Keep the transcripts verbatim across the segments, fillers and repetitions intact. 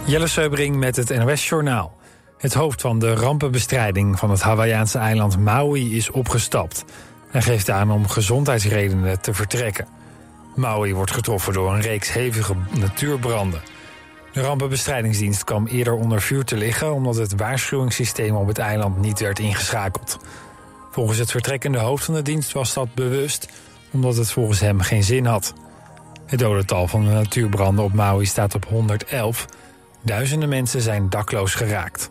Jelle Seubring met het N O S-journaal. Het hoofd van de rampenbestrijding van het Hawaïaanse eiland Maui is opgestapt. Hij geeft aan om gezondheidsredenen te vertrekken. Maui wordt getroffen door een reeks hevige natuurbranden. De rampenbestrijdingsdienst kwam eerder onder vuur te liggen omdat het waarschuwingssysteem op het eiland niet werd ingeschakeld. Volgens het vertrekkende hoofd van de dienst was dat bewust, omdat het volgens hem geen zin had. Het dodental van de natuurbranden op Maui staat op honderdelf. Duizenden mensen zijn dakloos geraakt.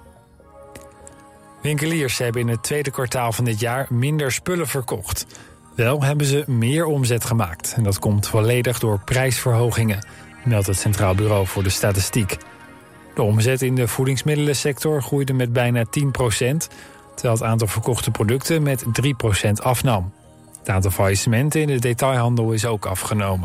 Winkeliers hebben in het tweede kwartaal van dit jaar minder spullen verkocht. Wel hebben ze meer omzet gemaakt. En dat komt volledig door prijsverhogingen, meldt het Centraal Bureau voor de Statistiek. De omzet in de voedingsmiddelensector groeide met bijna tien procent... terwijl het aantal verkochte producten met drie procent afnam. Het aantal faillissementen in de detailhandel is ook afgenomen.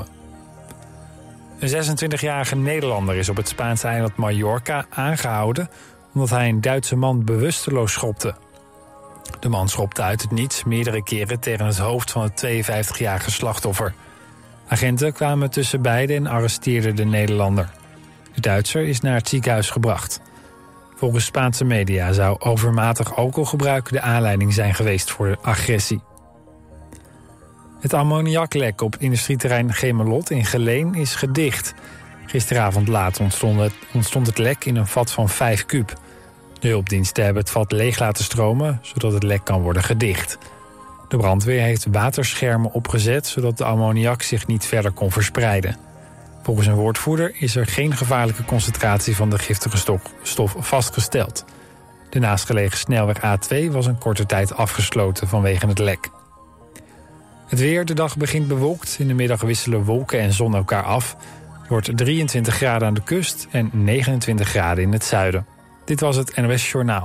Een zesentwintigjarige Nederlander is op het Spaanse eiland Mallorca aangehouden omdat hij een Duitse man bewusteloos schopte. De man schopte uit het niets meerdere keren tegen het hoofd van het tweeënvijftigjarige slachtoffer. Agenten kwamen tussen beiden en arresteerden de Nederlander. De Duitser is naar het ziekenhuis gebracht. Volgens Spaanse media zou overmatig alcoholgebruik de aanleiding zijn geweest voor de agressie. Het ammoniaklek op industrieterrein Gemelot in Geleen is gedicht. Gisteravond laat ontstond het, ontstond het lek in een vat van vijf kuub. De hulpdiensten hebben het vat leeg laten stromen, zodat het lek kan worden gedicht. De brandweer heeft waterschermen opgezet, zodat de ammoniak zich niet verder kon verspreiden. Volgens een woordvoerder is er geen gevaarlijke concentratie van de giftige stof, stof vastgesteld. De naastgelegen snelweg A twee was een korte tijd afgesloten vanwege het lek. Het weer, de dag begint bewolkt. In de middag wisselen wolken en zon elkaar af. Het wordt drieëntwintig graden aan de kust en negenentwintig graden in het zuiden. Dit was het N O S Journaal.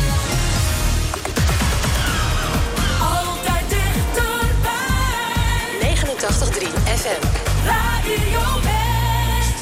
Altijd dichterbij. negenentachtig komma drie F M. Radio West.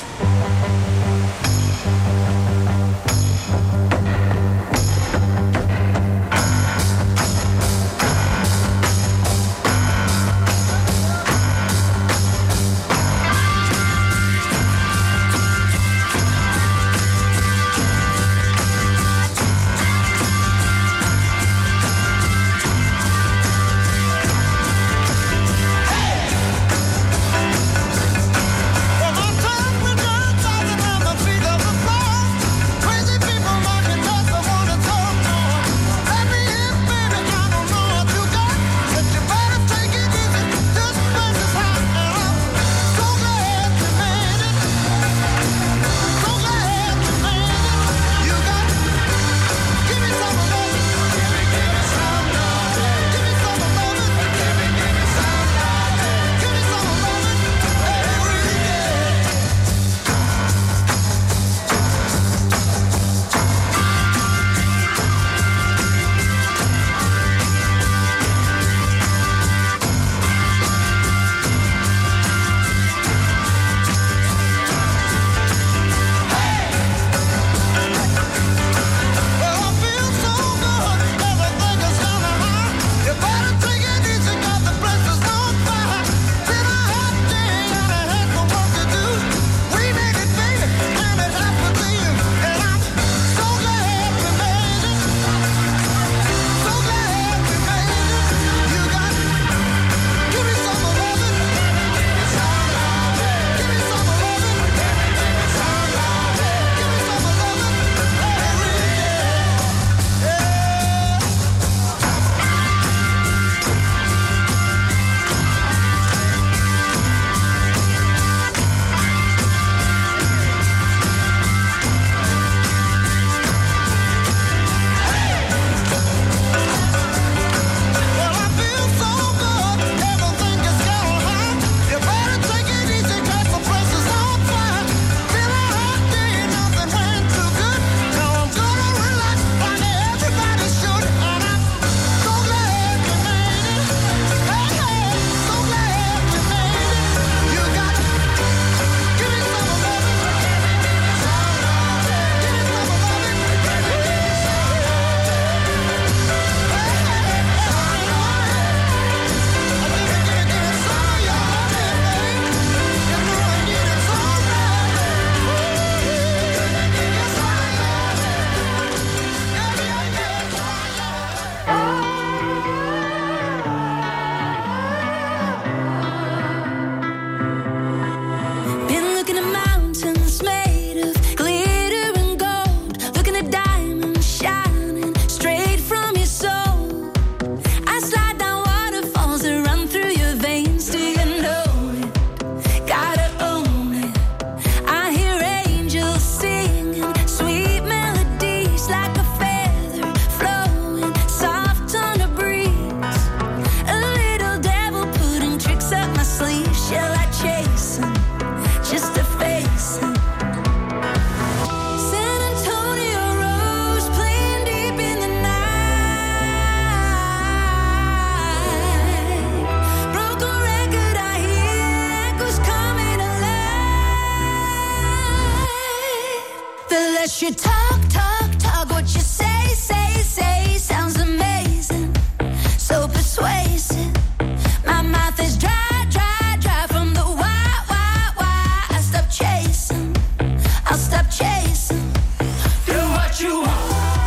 The less you talk, talk, talk, what you say, say, say sounds amazing, so persuasive. My mouth is dry, dry, dry from the why, why, why. I stop chasing, I'll stop chasing. Do what you want.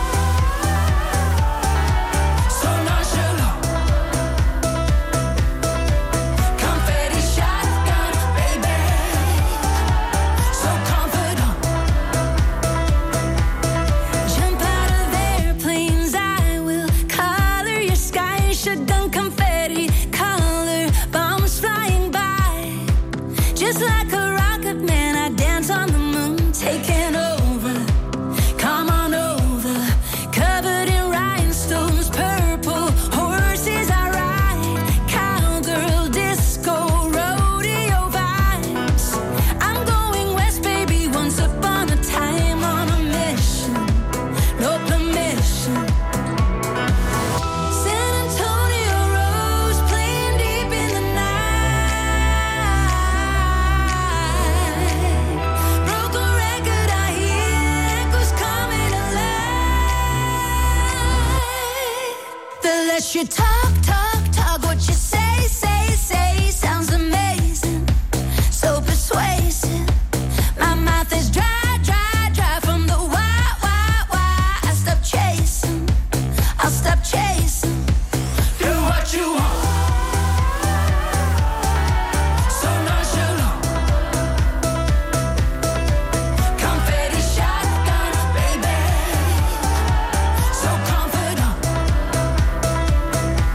You talk, talk, talk, what you say, say, say sounds amazing, so persuasive. My mouth is dry, dry, dry from the why, why, why. I stop chasing, I'll stop chasing. Do what you want. So nonchalant. Confetti shotgun, baby. So confident.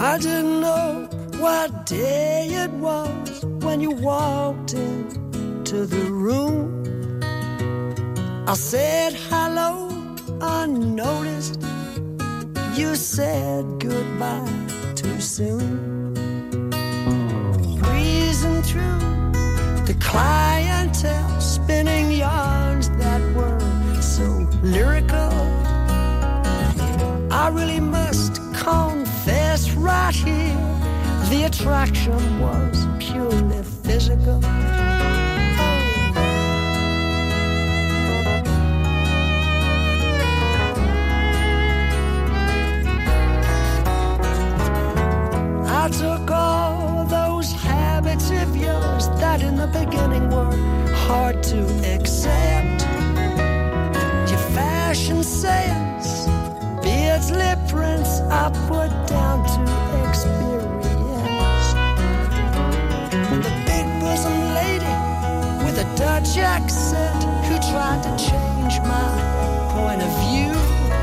I didn't know what day it was when you walked into the room. I said hello unnoticed. You said goodbye too soon. Breezing through the clientele, spinning yarns that were so lyrical. I really must confess right here, the attraction was purely physical. I took all those habits of yours that in the beginning were hard to accept. Your fashion sense, beards, lip prints, I put down to experience. The big bosom lady with a Dutch accent who tried to change my point of view.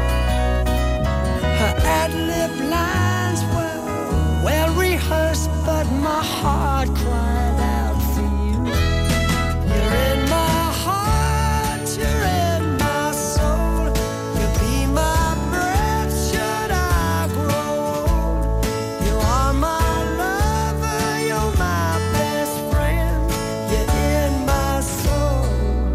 Her ad-lib lines were well rehearsed, but my heart cried out for you. You're in my heart, you're in my soul. You'll be my breath should I grow old. You are my lover, you're my best friend. You're in my soul.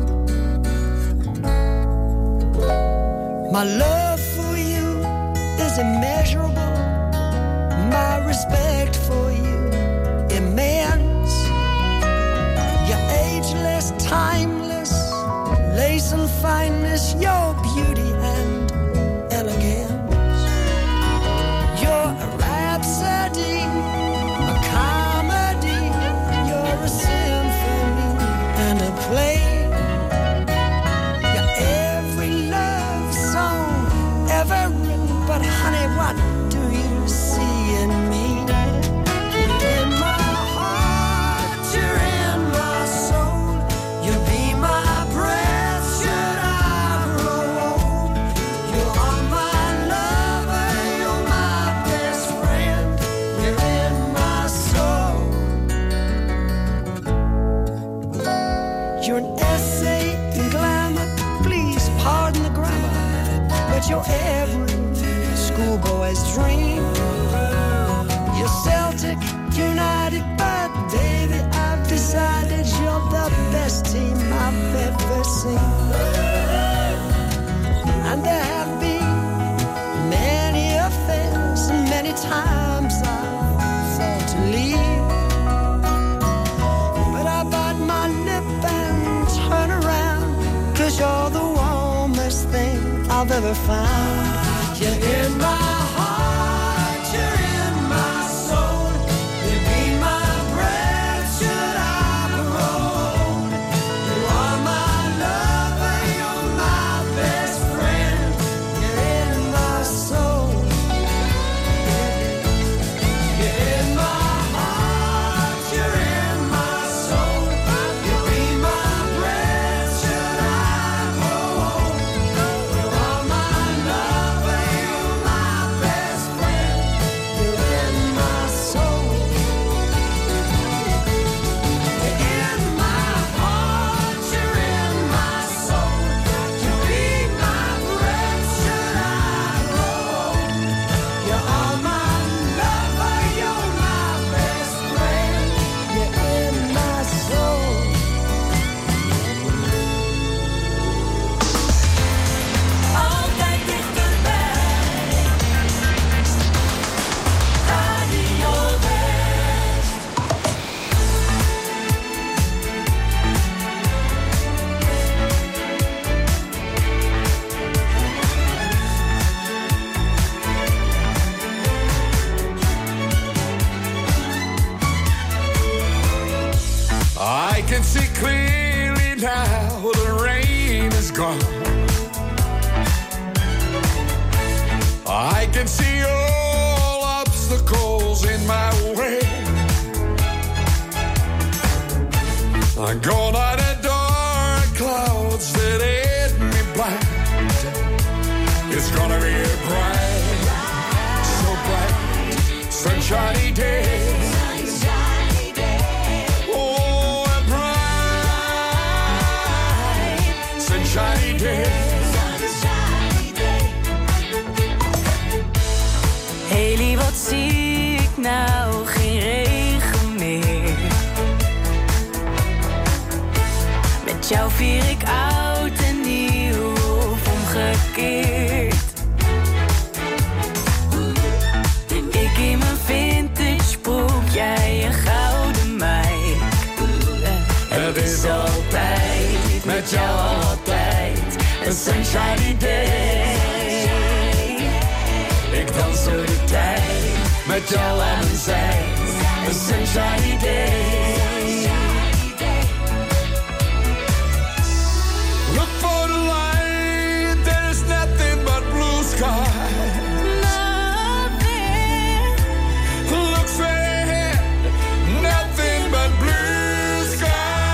My love for you is immeasurable. My respect for you immense. You're ageless, timeless, lace and fineness, your beauty and elegance. You're a rhapsody, a comedy. You're a symphony and a play. You're every love song ever written, but honey, what do you see in me? You're in my heart, you're in my soul. You'll be my breath should I grow old. You are my lover, you're my best friend. You're in my soul. You're an essay in glamour, please pardon the grammar, but you're every schoolboy's dream. You're Celtic, United, but baby, I've decided you're the best team I've ever seen. And there have been many affairs, and many times I've thought to leave. But I bite my lip and turn around, 'cause you're the warmest thing I've ever found. You're in my heart, you're in my soul. You'll be my breath should I grow old. You are my lover, you're my best friend. You're in my soul. You're in my heart, you're in my soul. You'll be my breath should I grow old. You are my lover, you're my best friend. You're in my soul. You're in my heart, you're in my soul. You'll be my breath should I grow old. You are my lover, you're my best friend. You're in my soul. Altijd dichterbij. Radio West. I can see clearly now the rain is gone. I can see all obstacles in my way. I'm gone out of dark clouds that hid me blind. It's gonna be a bright, so bright, sunshine. sunshiny day. Sunshiny day. Oh, a bright sunshiny day. Sunshiny day. Haley, wat zie ik nou? Geen regen meer. Met jou vier ik oud en nieuw of omgekeerd. Ik in mijn vintage broek, jij een gouden meid. Het is altijd, met jou altijd, een sunshiny day. Ik dans door de tijd, met jou aan mijn zij, een sunshiny day. Look for the light, there's nothing but blue sky. Look straight ahead, nothing but blue skies.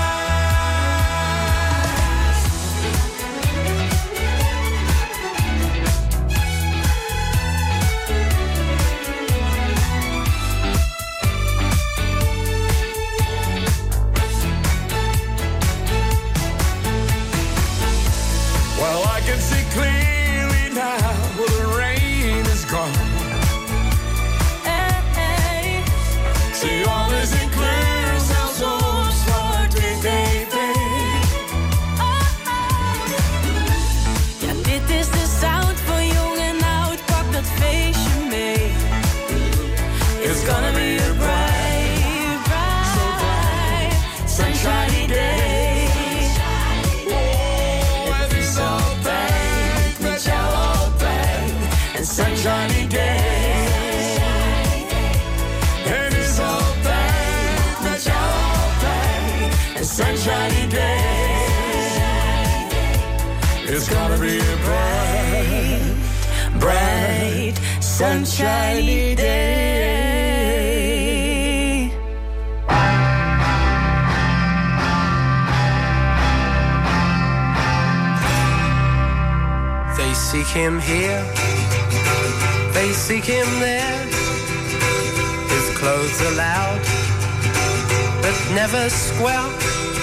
Well, I can see clearly now, well, the rain is gone. Zie alles in kleur, zelfs op zwart-wit tv. Ja, dit is de sound van jong en oud, pak dat feestje mee. It's gonna be a bright, bright, sunshiny day. Oh, het is altijd, met jou altijd, Een sunshiny day. het is altijd, met jou altijd. Een sunshiny day. It's gonna be a bright, Bright, sunshiny day. They seek him here, they seek him there. His clothes are loud, but never square.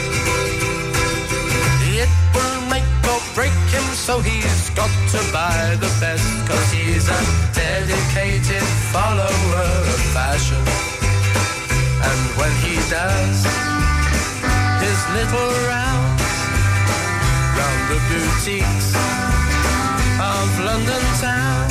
It will make or break him, so he's got to buy the best. Cause he's a dedicated follower of fashion. And when he does his little rounds round the boutiques of London town,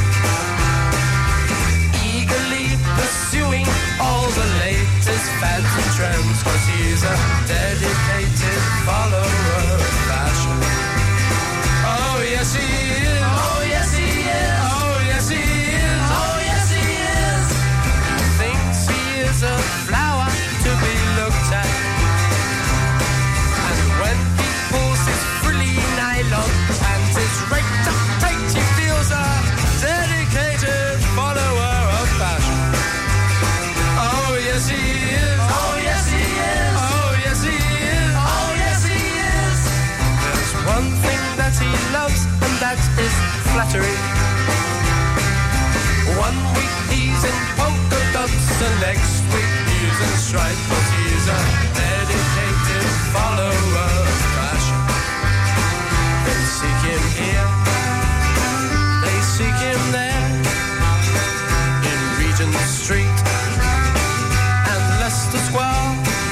eagerly pursuing all the latest fads and trends, cause he's a dedicated follower of fashion. Oh yes he is, oh yes he is, oh yes he is, oh yes he is. He thinks he is a flower to be looked at, and when he pulls his frilly nylon and his raked up tight, he feels a dedicated follower of fashion. Oh yes he is, oh yes he is, oh yes he is, oh yes he is. There's one thing that he loves, and that is flattery. One week he's in polka dots, and next week he's in stripes, but he's a dedicated follower of fashion. They seek him here, they seek him there, in Regent Street and Leicester Square.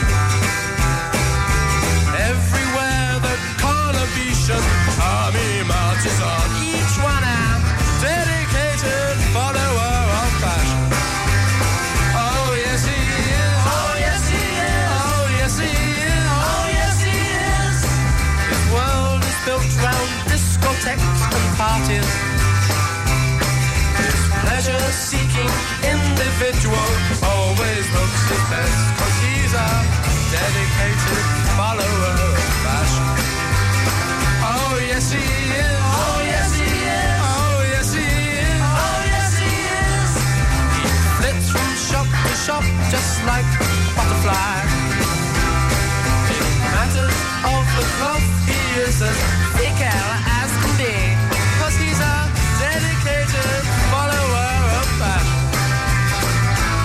Everywhere the Carnabetian army marches on, each one a dedicated follower of fashion. Oh yes he is, oh yes he is, oh yes he is, oh yes he is. His world is built round discotheques and parties. His pleasure-seeking individual always looks his best, cause he's a dedicated follower of fashion. Oh yes he is, oh yes he is, oh yes he is, oh yes he is. He flits from shop to shop just like a butterfly. In matters of the cloth, he is as thick as can be, cause he's a dedicated follower of fashion.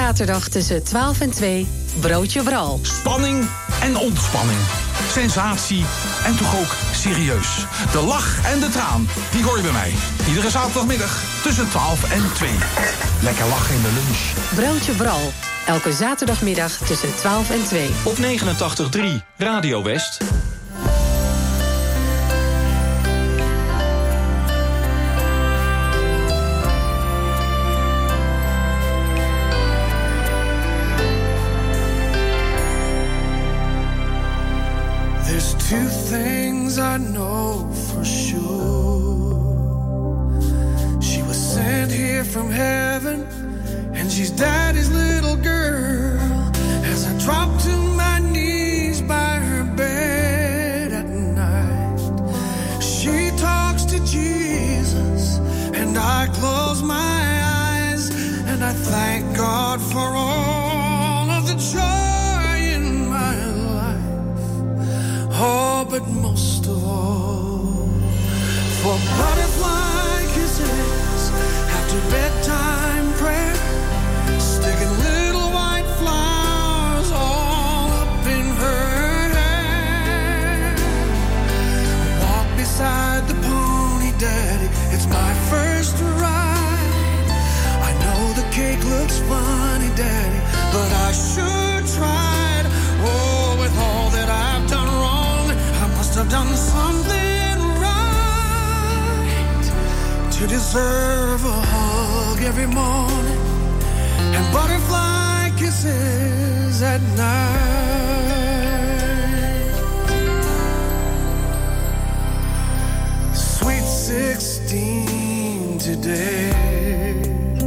zaterdag tussen twaalf en twee Broodje Bral. Spanning en ontspanning. Sensatie en toch ook serieus. De lach en de traan, die hoor je bij mij. Iedere zaterdagmiddag tussen twaalf en twee. Lekker lachen in de lunch. Broodje Bral. Elke zaterdagmiddag tussen twaalf en twee. Op negenentachtig komma drie Radio West. There's two things I know for sure. She was sent here from heaven, and she's daddy's little girl. As I drop to my knees by her bed at night, she talks to Jesus, and I close my eyes, and I thank God for all of the joy in my life. Oh, but most of all, for butterfly kisses after bedtime prayer, sticking little white flowers all up in her hair. Walk beside the pony, daddy, it's my first ride. I know the cake looks funny, daddy, but I sure tried. Oh, with all that I've done wrong, I must have done something right to deserve a hug every morning and butterfly kisses at night. Sweet sixteen today,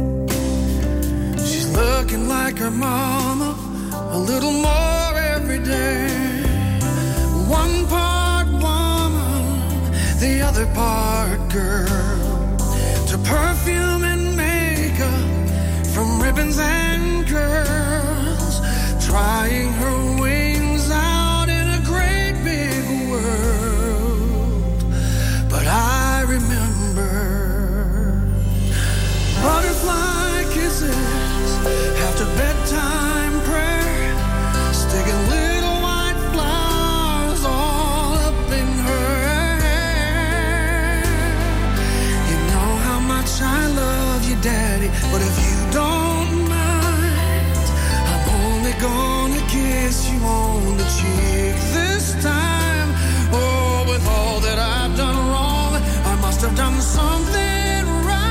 she's looking like her mama a little more every day. One part woman, the other part girl. To perfume and makeup, from ribbons and curls, trying her wings out in a great big world. But I remember butterfly kisses after bedtime prayer, sticking little white flowers all up in her hair. You know how much I love you, daddy, but if you don't mind, I'm only gonna kiss you on the cheek this time. Oh, with all that I've done wrong, I must have done something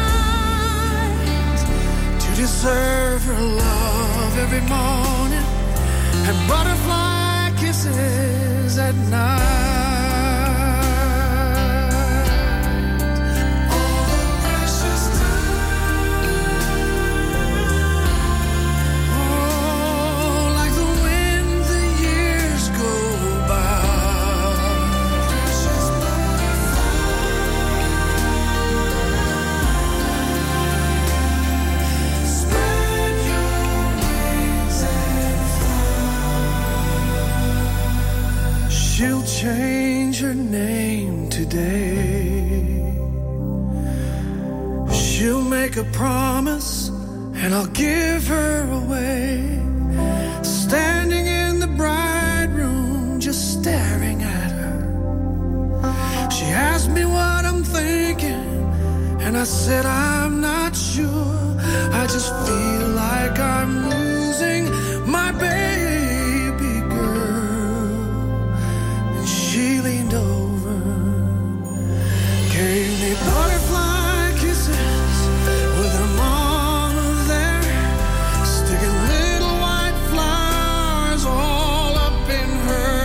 right to deserve her love every morning and butterfly kisses at night. All the precious time, oh, like the wind the years go by. Precious butterfly, spread your wings and fly. She'll change her name today. She'll make a promise, and I'll give her away. Standing in the bride room, just staring at her. She asked me what I'm thinking, and I said I'm not sure. I just feel like I'm losing my baby girl. And she leaned over, gave me butterfly kisses with her mama there, sticking little white flowers all up in her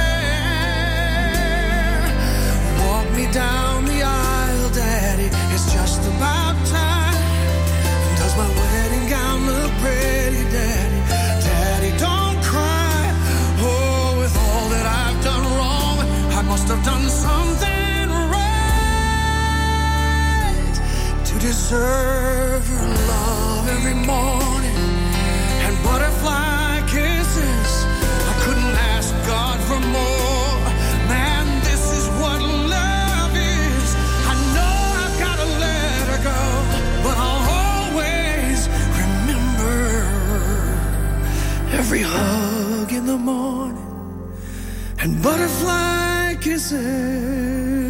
hair. Walk me down the aisle, daddy, it's just about time. Does my wedding gown hug in the morning and butterfly kisses.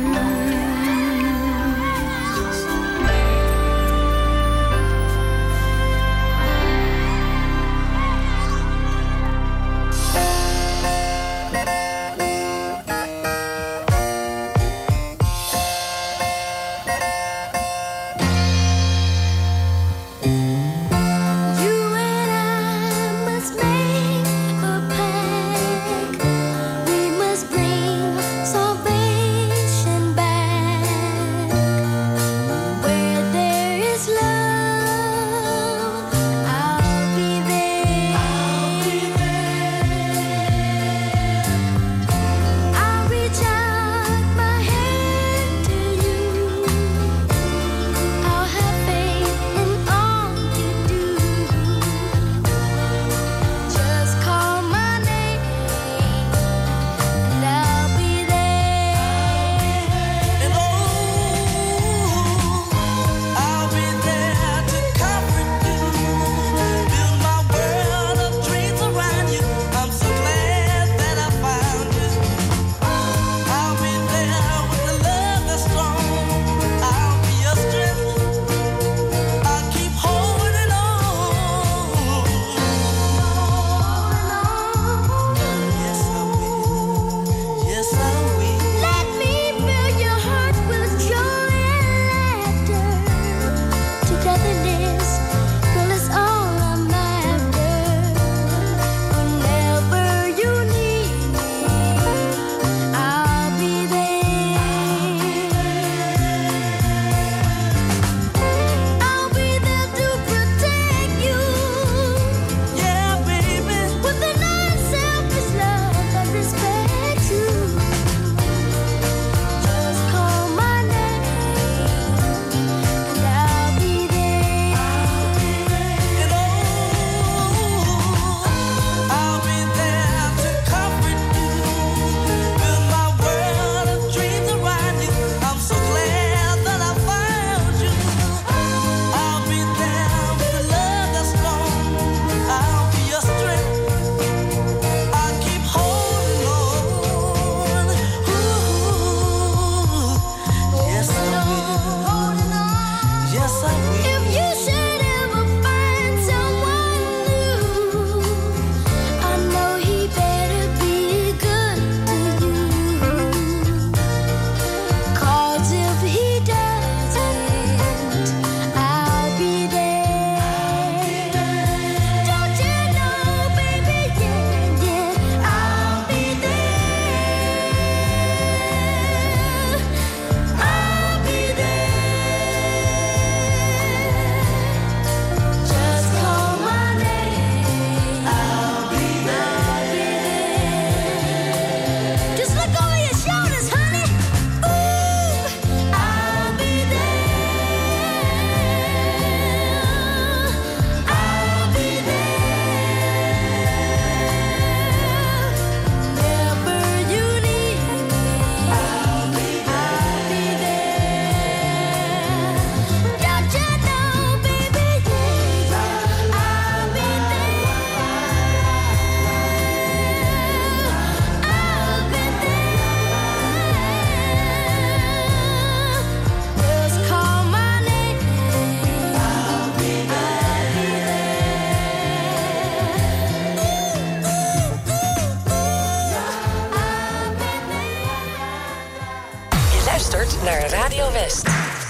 Naar Radio West.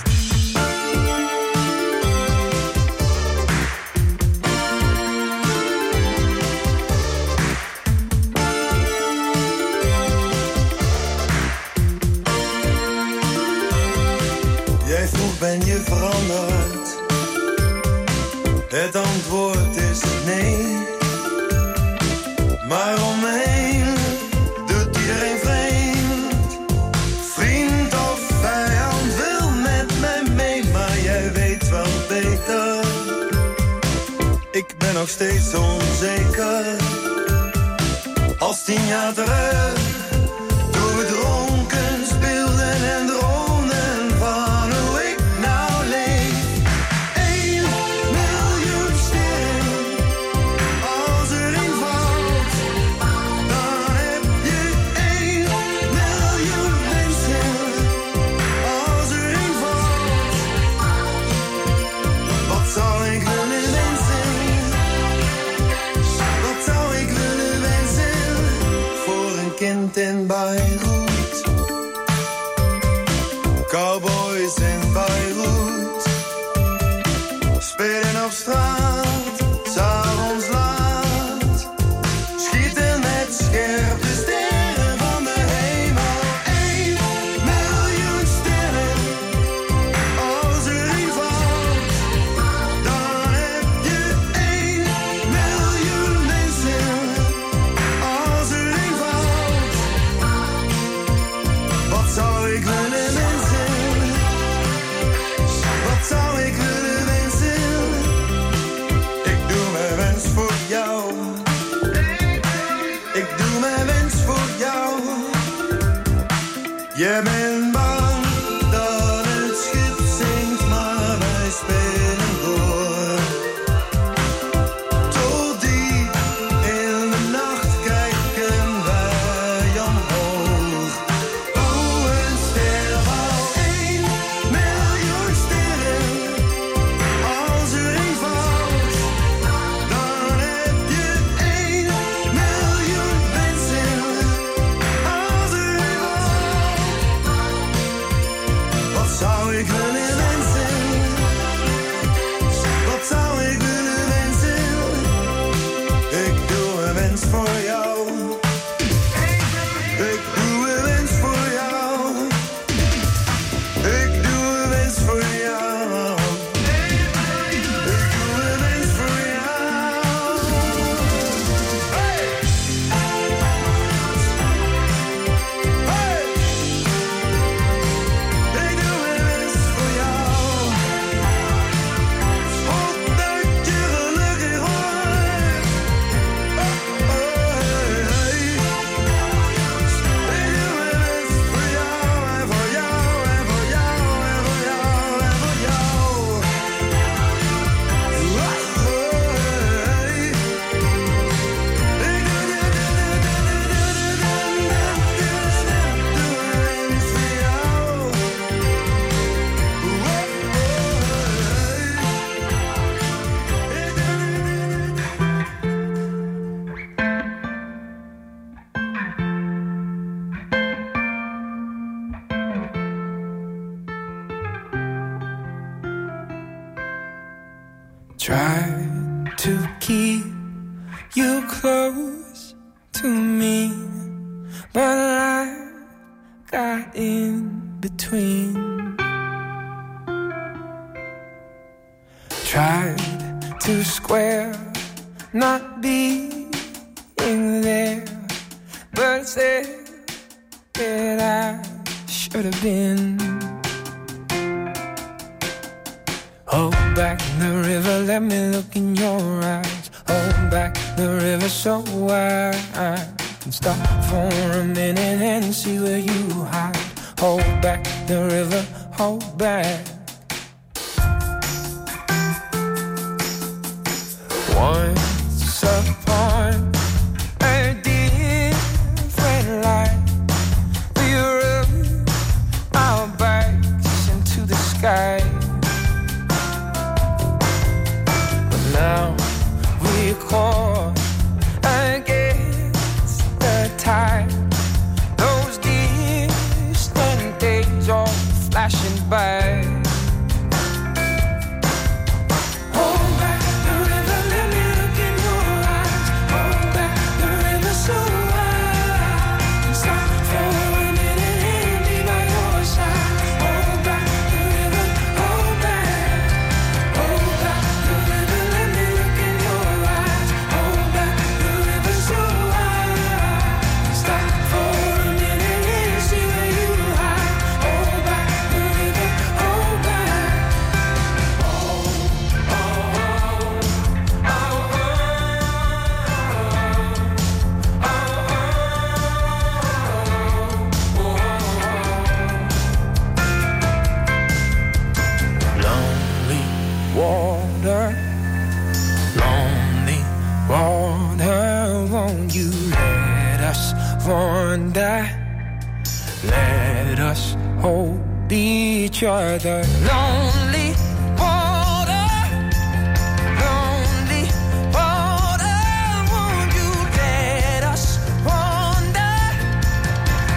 Jij vroeg, ben je veranderd? Het antwoord is nee. Maar om me heen doet iedereen vreemd. Vriend of vijand wil met mij mee, maar jij weet wel beter. Ik ben nog steeds onzeker. Als tien jaar terug, toen we dronken speelden en droomden van hoe ik nou leef. Eén miljoen sterren, als er een valt. Beirut. Cowboys in Beirut. Spelen op straat, 's avonds laat. Schieten met scherpe sterren van de hemel. Eén miljoen sterren. Als er een valt, dan heb je één miljoen mensen. Als er een valt, wat zou ik willen wensen? Wat zou ik willen wensen? Ik doe mijn wens voor jou. Ik doe mijn wens voor jou. Je bent bang dat het schip zinkt, maar wij spelen door. Tot diep in de nacht kijken wij omhoog. Hoe een ster valt, één miljoen sterren. Als er een valt, dan heb je één miljoen mensen. Als er een valt, wat zou ik willen wensen? Wat zou ik willen wensen? Ik doe een wens voor jou. Ik doe een wens voor jou. Ik doe een wens voor jou. Ik doe een wens voor jou. Hey! Hey! Ik doe een wens voor jou. Op dat je gelukkig wordt. Oh, oh, hey, hey. Ik doe een wens voor jou en voor jou en voor jou en voor jou en voor jou. Oh, oh, hey. Ik doe een wens voor Try to keep you close to me, but life got in between. Tried to square not being there, but said that I should have been. Hold back the river, let me look in your eyes. Hold back the river so I can stop for a minute and see where you hide. Hold back the river, hold back. Once upon a different life, we rubbed our backs into the sky. Now we caught against the tide. Those distant days are flashing by. Hold back the river, let me look in your eyes. Hold back the river so I can stop for a minute and be by your side. Hold back the river, hold back. Hold back the river, let me look in your eyes. Hold back the river so I can stop for a minute and see where you hide. Hold back the river, hold back. Lonely water, lonely water, won't you let us wander? Let us hold each other. Lonely water, lonely water, won't you let us wander?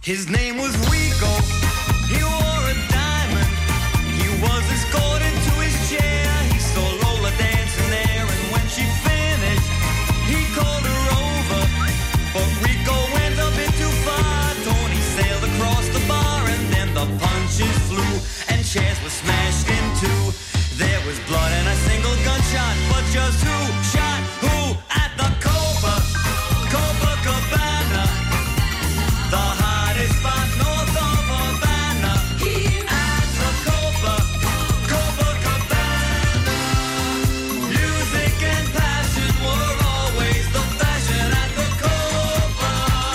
His name was Rico. He wore a diamond. He was escorted to his chair. He saw Lola dancing there, and when she finished, he called her over. But Rico went a bit too far. Tony sailed across the bar, and then the punches flew, and chairs were smashed in two. There was blood and a single gunshot, but just who shot who at the Copa, Copacabana, the hottest spot north of Havana. At the Copa, Copacabana, music and passion were always the fashion at the Copa.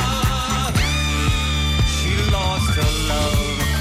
She lost her love.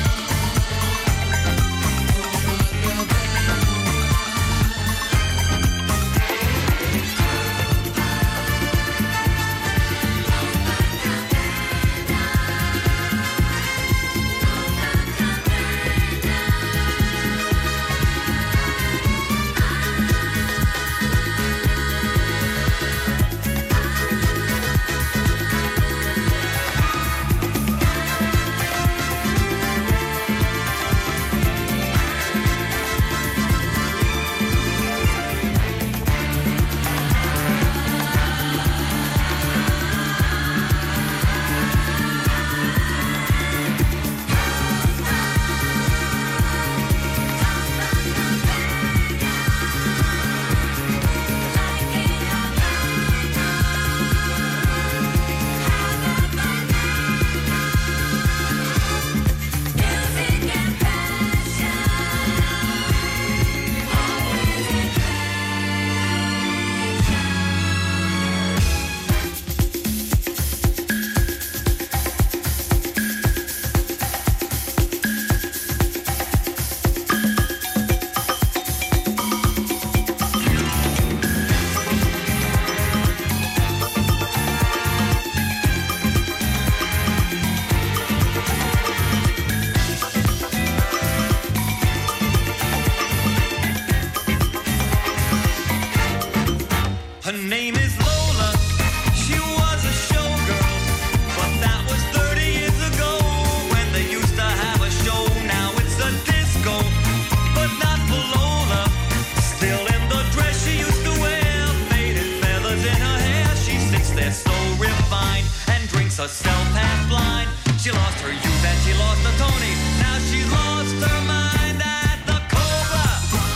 Her name is Lola. She was a showgirl, but that was thirty years ago when they used to have a show. Now it's a disco, but not for Lola. Still in the dress she used to wear, faded feathers in her hair. She sits there so refined and drinks herself half blind. She lost her youth and she lost her Tony. Now she's lost her mind at the Copa,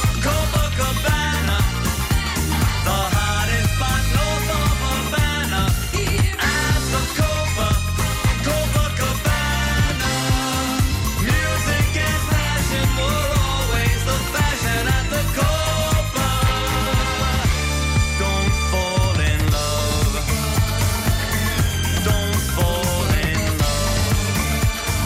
Copacabana, the hottest spot north of Havana. At the Copa, Copacabana, music and passion were always the fashion at the Copa. Don't fall in love. Don't fall in love.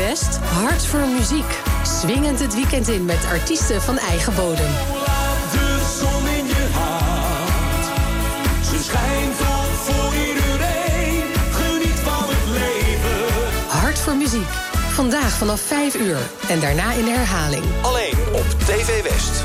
West, hart voor muziek. Swingend het weekend in met artiesten van eigen bodem. Laat de zon in je hart. Ze schijnt op voor iedereen. Geniet van het leven. Hart voor muziek. Vandaag vanaf vijf uur en daarna in de herhaling. Alleen op T V West.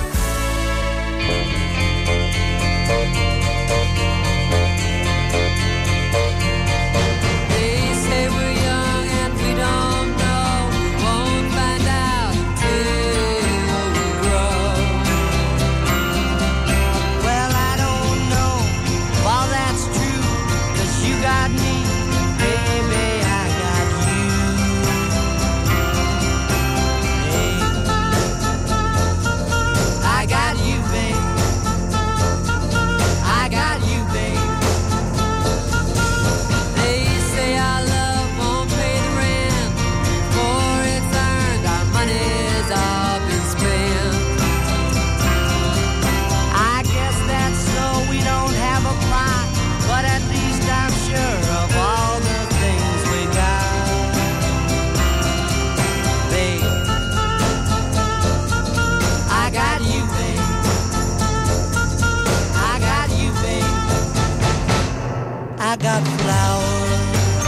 I got flowers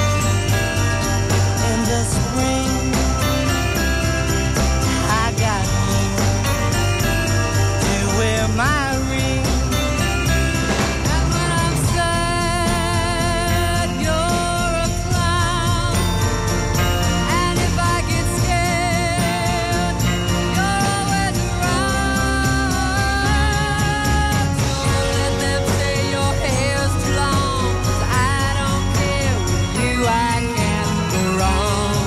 in the spring. I got you to wear my ring. And when I'm sad, you're a clown. And if I get scared, you're always around. So let them say your hair's too long. I can't go wrong.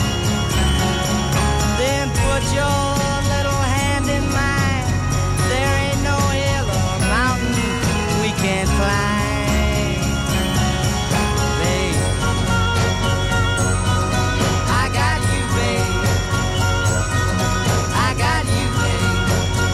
Then put your little hand in mine. There ain't no hill or mountain we can't climb. Babe, I got you, babe. I got you, babe.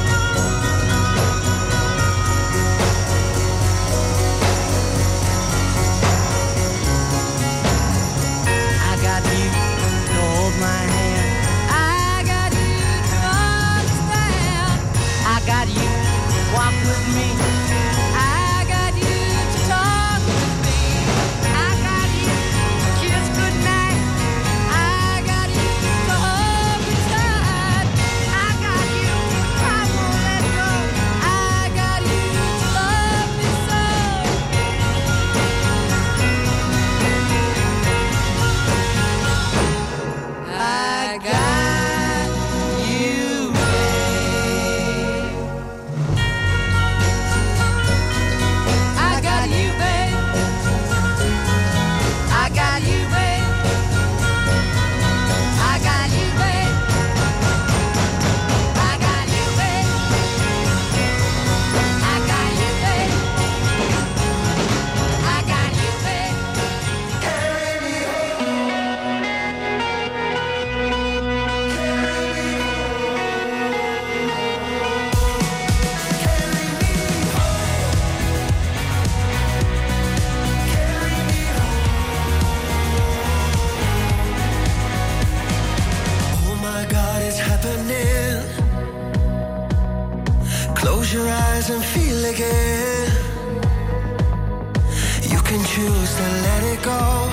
I got you to hold my hand. I got you to understand. I got you to walk with me. I got you to talk with me. I got you to kiss goodnight. I got you to hold me tight. I got you, I won't let go. I got you to love me so. I got you, babe. I got you, babe. I got you, babe. I got you, babe. I got you, babe. I got you, babe. I got you, babe. Carry me Oh my God, it's happening. Close your eyes and feel again. You can choose to let it go.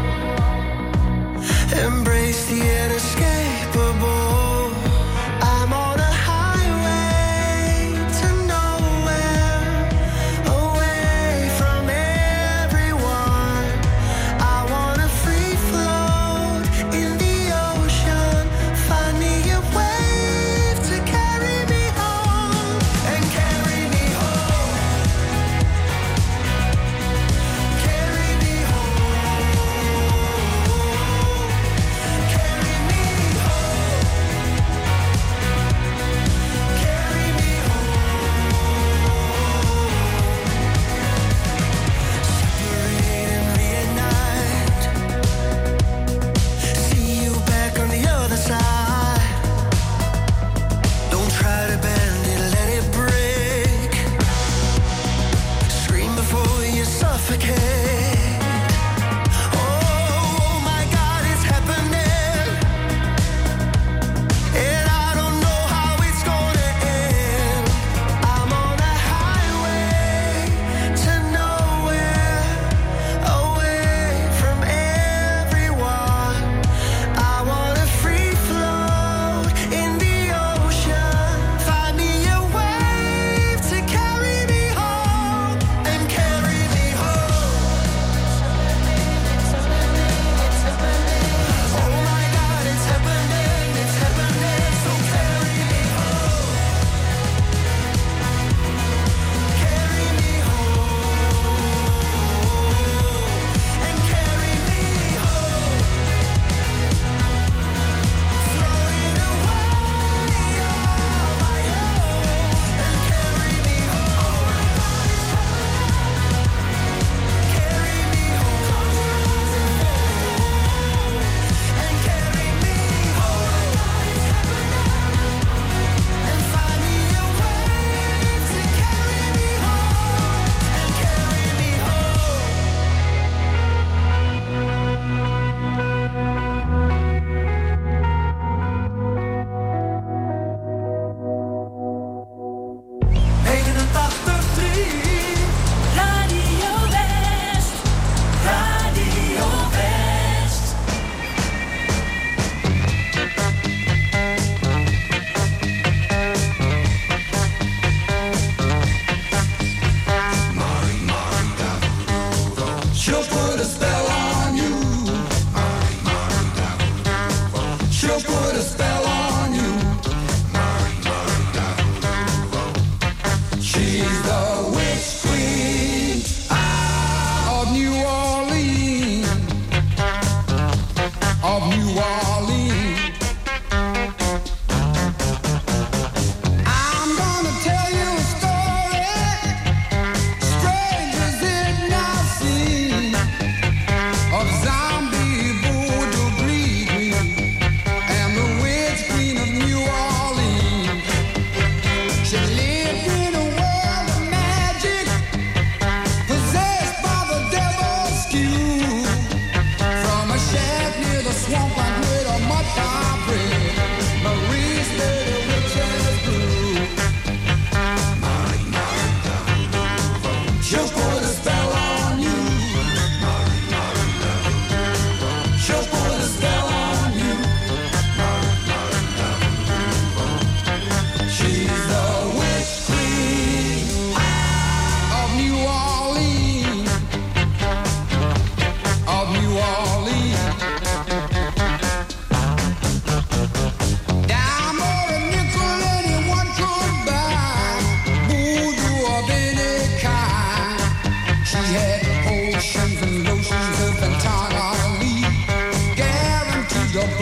Embrace the inescapable. I'm on a highway to nowhere, away from everyone. I wanna free float in the ocean. Find me a wave to carry me home and carry me home. Carry me home. Carry me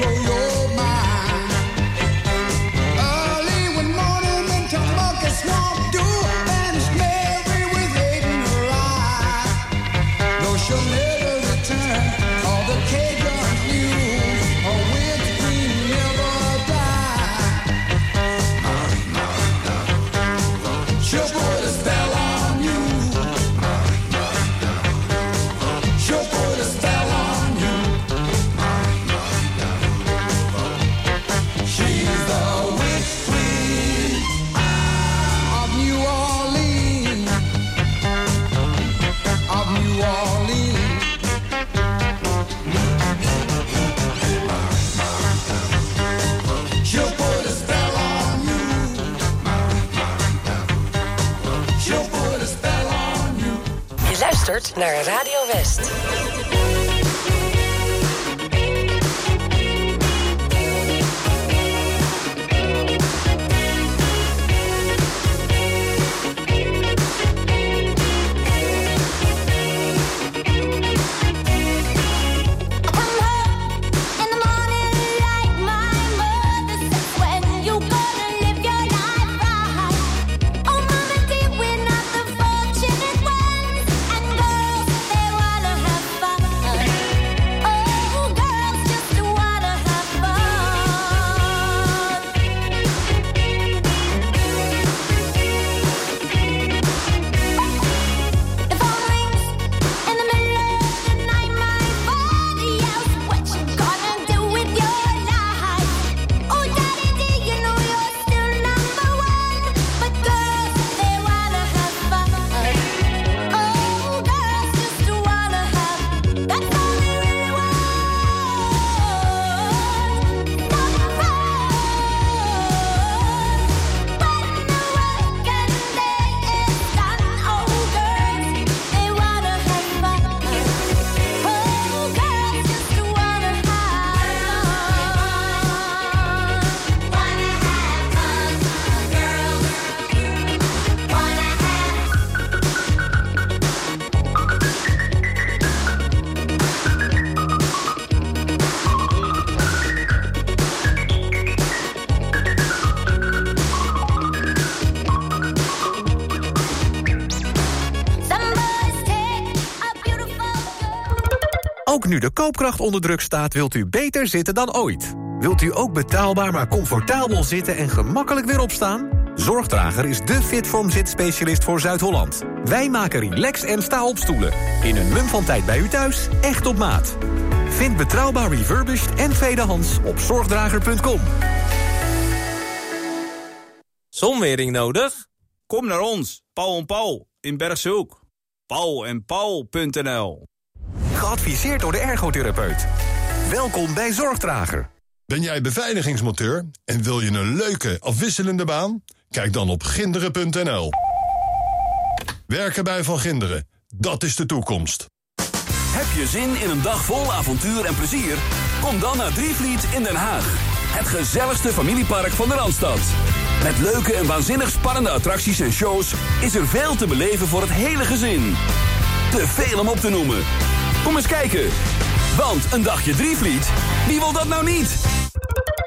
you're mine. Early one morning into monkey swamp, do Spanish Mary with hate in her eye. No, she'll never return. All the Cajuns knew her winter queen never die. She'll put a spell on you. She'll put a spell on you. She's the witch queen of New Orleans. Of New Orleans. She'll put a spell on you. She'll put a spell on you. Je luistert naar Radio West. In the morning, like my mother said, when you gonna live your life right? Oh, mama dear, we're not the fortunate ones, and girls they wanna have fun. Oh, girls just wanna have fun. The phone rings in the middle of the night, my body yells, what you gonna do with your life? Oh, daddy, do you know you're still number one? But girls, they wanna have fun. Oh, girls just wanna have, that's all they really want. Some fun. When the working day is done, oh, girls, they wanna have fun. Oh, girls just wanna have fun. Wanna have fun, girls. Wanna some boys take a beautiful girl. Ook nu de koopkracht onder druk staat, wilt u beter zitten dan ooit. Wilt u ook betaalbaar maar comfortabel zitten en gemakkelijk weer opstaan? Zorgdrager is de Fitform zitspecialist voor Zuid-Holland. Wij maken relax- en sta-opstoelen. In een mum van tijd bij u thuis, echt op maat. Vind betrouwbaar refurbished en tweedehands op zorgdrager punt com. Zonwering nodig? Kom naar ons, Paul en Paul, in Bergshoek. paul en paul punt n l. Geadviseerd door de ergotherapeut. Welkom bij Zorgdrager. Ben jij beveiligingsmonteur en wil je een leuke, afwisselende baan? Kijk dan op ginderen punt n l. Werken bij Van Ginderen, dat is de toekomst. Heb je zin in een dag vol avontuur en plezier? Kom dan naar Drievliet in Den Haag. Het gezelligste familiepark van de Randstad. Met leuke en waanzinnig spannende attracties en shows is er veel te beleven voor het hele gezin. Te veel om op te noemen. Kom eens kijken. Want een dagje Drievliet, wie wil dat nou niet?